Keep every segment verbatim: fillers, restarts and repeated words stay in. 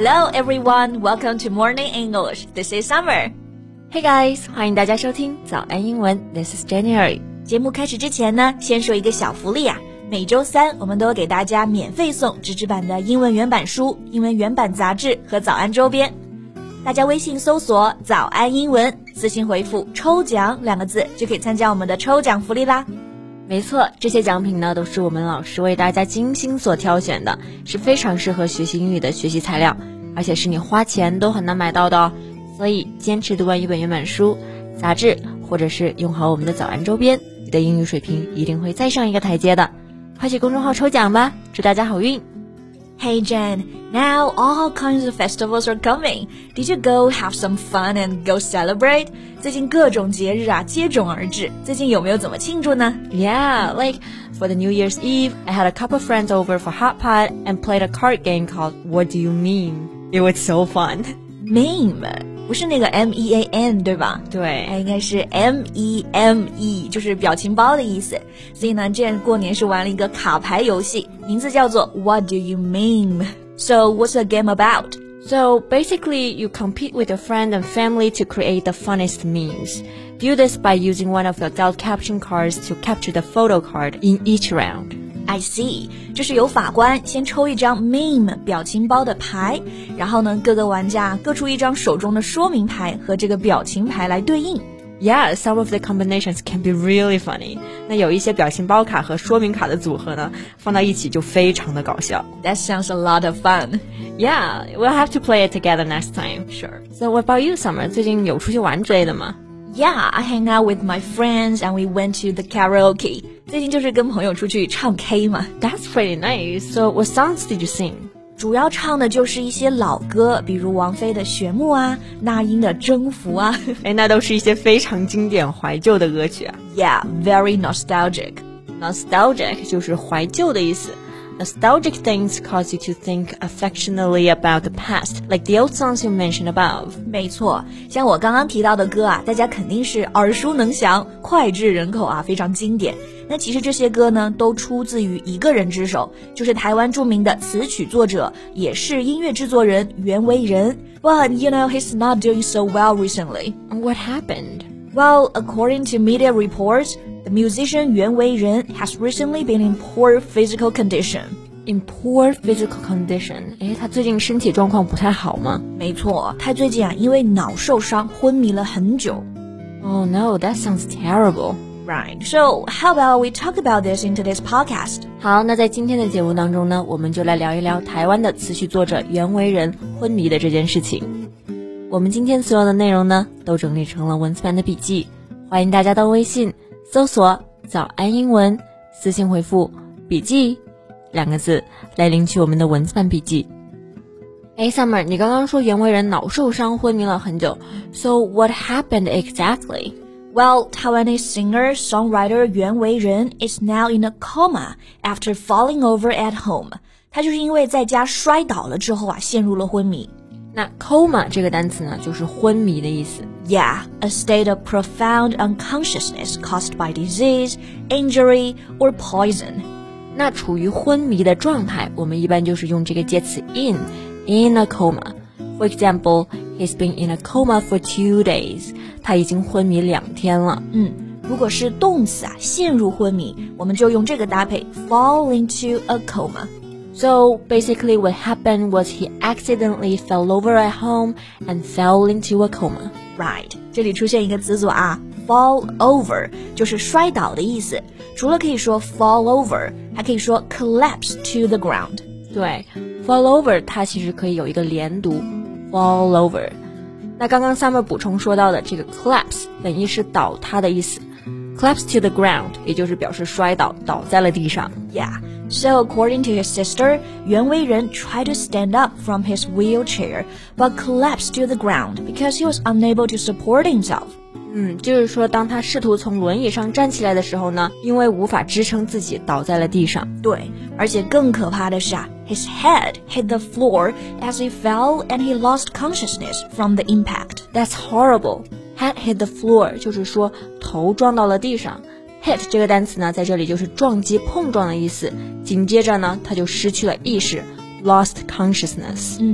Hello everyone, welcome to Morning English. This is Summer. Hey guys, 欢迎大家收听早安英文 This is January. 节目开始之前呢，先说一个小福利啊。每周三我们都给大家免费送纸质版的英文原版书、英文原版杂志和早安周边。大家微信搜索早安英文，私信回复抽奖两个字就可以参加我们的抽奖福利啦。 没错，这些奖品呢都是我们老师为大家精心所挑选的，是非常适合学习英语的学习材料，而且是你花钱都很难买到的哦。所以坚持读完一本原版书、杂志，或者是用好我们的早安周边，你的英语水平一定会再上一个台阶的。快去公众号抽奖吧，祝大家好运。 Hey Jen, now all kinds of festivals are coming. Did you go have some fun and go celebrate? 最近各种节日啊接踵而至，最近有没有怎么庆祝呢？ Yeah, like for the New Year's Eve, I had a couple of friends over for hot pot and played a card game called What Do You Mean? It was so fun. Meme 不是那个 M E A N 对吧？ 对， 它应该是 M E M E， 就是表情包的意思。所以呢，这样过年是玩了一个卡牌游戏，名字叫做 What Do You Mean? So what's the game about? So basically, you compete with your friend and family to create the funniest memes. Do this by using one of the adult caption cards to capture the photo card in each round.I see， 就是由法官先抽一张 meme 表情包的牌，然后呢，各个玩家各出一张手中的说明牌和这个表情牌来对应。 Yeah, some of the combinations can be really funny. 那有一些表情包卡和说明卡的组合呢，放到一起就非常的搞笑。 That sounds a lot of fun. Yeah, we'll have to play it together next time. Sure. So what about you, Summer? 最近有出去玩之类的吗 ？Yeah, I hang out with my friends and we went to the karaoke. 最近就是跟朋友出去唱 K 嘛。 That's pretty nice. So what songs did you sing? 主要唱的就是一些老歌，比如王菲的《旋木》啊，那英的《征服》啊。 哎，那都是一些非常经典怀旧的歌曲啊。 Yeah, very nostalgic. Nostalgic 就是怀旧的意思。Nostalgic things cause you to think affectionately about the past, like the old songs you mentioned above. 没错，像我刚刚提到的歌啊，大家肯定是耳熟能详，脍炙人口啊，非常经典。那其实这些歌呢，都出自于一个人之手，就是台湾著名的词曲作者，也是音乐制作人袁惟仁。But you know, he's not doing so well recently. What happened? Well, according to media reports, the musician Yuan Wei-ren has recently been in poor physical condition. In poor physical condition? 诶，他最近身体状况不太好吗？ 没错，他最近啊，因为脑受伤昏迷了很久。 Oh no, that sounds terrible. Right. So, how about we talk about this in today's podcast? 好，那在今天的节目当中呢，我们就来聊一聊台湾的词曲作者袁惟仁昏迷的这件事情。我们今天所有的内容呢，都整理成了文字版的笔记，欢迎大家到微信搜索早安英文，私信回复笔记两个字来领取我们的文字版笔记。哎 Summer， 你刚刚说袁惟仁脑受伤昏迷了很久 So what happened exactly? Well, Taiwanese singer-songwriter Yuan Wei-ren is now in a coma after falling over at home. 他就是因为在家摔倒了之后啊，陷入了昏迷。 那 coma 这个单词呢，就是昏迷的意思。 Yeah, a state of profound unconsciousness caused by disease, injury, or poison. 那处于昏迷的状态，我们一般就是用这个介词 in, in a coma. For example, he's been in a coma for two days. 他已经昏迷两天了。 嗯，如果是动词啊，陷入昏迷，我们就用这个搭配 fall into a coma. So basically what happened was he accidentally fell over at home and fell into a coma. Right. 这里出现一个词组啊 fall over 就是摔倒的意思。除了可以说 fall over, 还可以说 collapse to the ground. 对 fall over 它其实可以有一个连读 fall over。那刚刚 Summer 补充说到的这个 collapse 本意是倒塌的意思， collapse to the ground 也就是表示摔倒，倒在了地上。 Yeah, so according to his sister, Yuan Wei-ren tried to stand up from his wheelchair, but collapsed to the ground because he was unable to support himself. 嗯，就是说当他试图从轮椅上站起来的时候呢，因为无法支撑自己，倒在了地上。 对，而且更可怕的是啊 his head hit the floor as he fell and he lost consciousness from the impact. That's horrible. Head hit the floor 就是说头撞到了地上。hit 这个单词呢，在这里就是撞击、碰撞的意思。紧接着呢，他就失去了意识 ，lost consciousness。 嗯。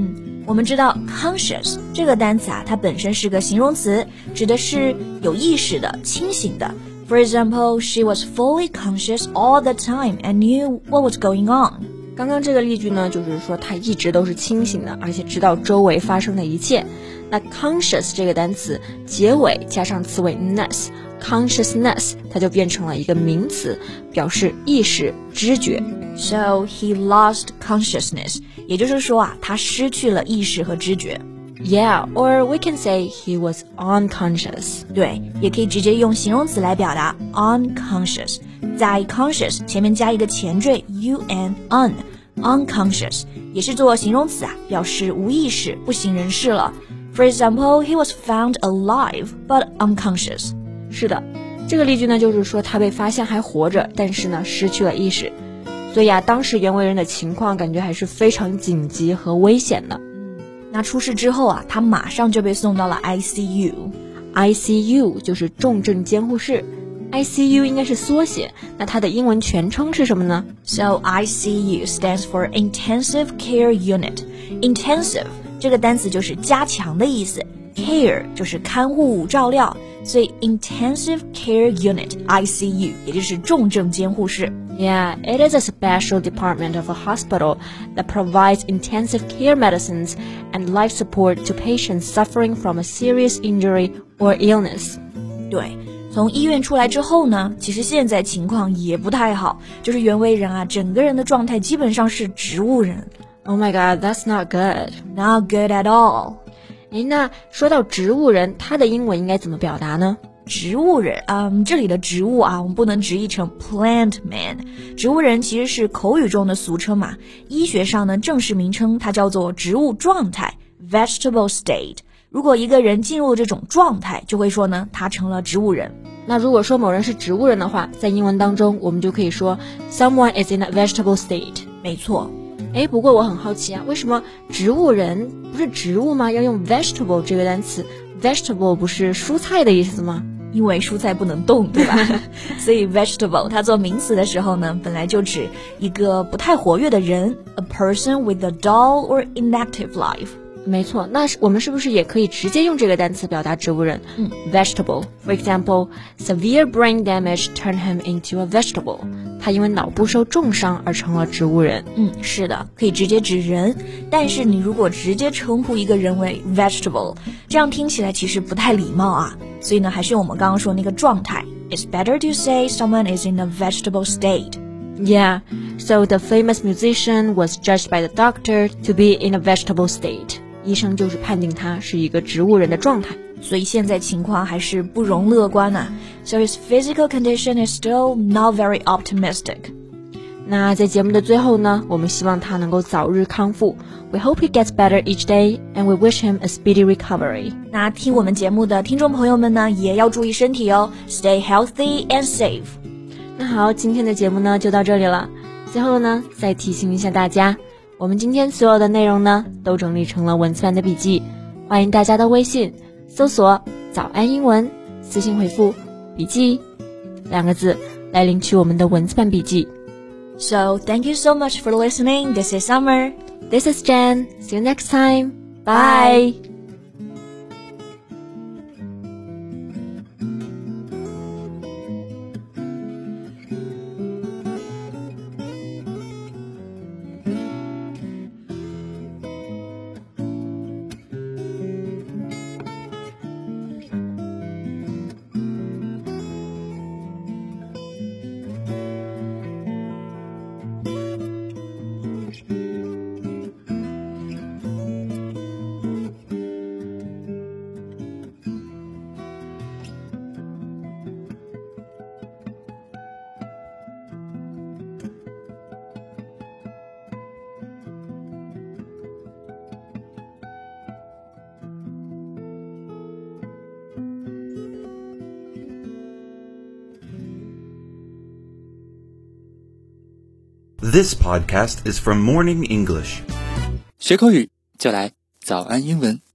我们知道 conscious 这个单词啊，它本身是个形容词，指的是有意识的、清醒的。For example, she was fully conscious all the time and knew what was going on. 刚刚这个例句呢，就是说她一直都是清醒的，而且知道周围发生的一切。那 conscious 这个单词结尾加上词尾 ness， consciousness 它就变成了一个名词，表示意识、知觉。 So he lost consciousness， 也就是说啊，他失去了意识和知觉。 Yeah, or we can say he was unconscious. 对，也可以直接用形容词来表达 unconscious， 在 conscious 前面加一个前缀 un un unconscious， 也是做形容词啊，表示无意识、不省人事了。For example, he was found alive but unconscious. 是的，这个例句呢，就是说他被发现还活着，但是呢失去了意识。所以啊，当时袁惟仁的情况感觉还是非常紧急和危险的。 那出事之后啊，他马上就被送到了 I C U。I C U 就是重症监护室 ，I C U 应该是缩写，那它的英文全称是什么呢 ？So I C U stands for Intensive Care Unit. Intensive 这个单词就是加强的意思 ，care 就是看护、照料，所以 Intensive Care Unit I C U 也就是重症监护室。 Yeah, it is a special department of a hospital that provides intensive care medicines and life support to patients suffering from a serious injury or illness. 对，从医院出来之后呢，其实现在情况也不太好，就是袁惟仁啊，整个人的状态基本上是植物人。 Oh my god, that's not good. Not good at all. 诶，那说到植物人，它的英文应该怎么表达呢？ 植物人，嗯，这里的植物啊，我们不能直译成 plant man。植物人其实是口语中的俗称嘛，医学上呢正式名称它叫做植物状态 vegetable state。如果一个人进入这种状态，就会说呢他成了植物人。 那如果说某人是植物人的话，在英文当中我们就可以说 someone is in a vegetable state。 没错。 诶，不过我很好奇啊，为什么植物人不是植物吗？要用 vegetable 这个单词 vegetable 不是蔬菜的意思吗？ 因为蔬菜不能动，对吧？所以 vegetable 它做名词的时候呢，本来就指一个不太活跃的人 ，a person with a dull or inactive life。 没错，那我们是不是也可以直接用这个单词表达植物人？ 嗯 ，vegetable。For example, severe brain damage turned him into a vegetable. 他因为脑部受重伤而成了植物人。 嗯，是的，可以直接指人，但是你如果直接称呼一个人为 vegetable， 这样听起来其实不太礼貌啊。所以呢，还是我们刚刚说那个状态 ，It's better to say someone is in a vegetable state. Yeah, so the famous musician was judged by the doctor to be in a vegetable state. 医生就是判定他是一个植物人的状态。 所以现在情况还是不容乐观啊。So his physical condition is still not very optimistic. 那在节目的最后呢，我们希望他能够早日康复。We hope he gets better each day, and we wish him a speedy recovery. 那听我们节目的听众朋友们呢，也要注意身体哦 ，Stay healthy and safe. 那好，今天的节目呢就到这里了。最后呢，再提醒一下大家，我们今天所有的内容呢都整理成了文字版的笔记，欢迎大家到微信搜索早安英文，私信回复笔记两个字来领取我们的文字版笔记。 So thank you so much for listening. This is Summer. This is Jen. See you next time. Bye. This podcast is from Morning English. 学口语就来早安英文。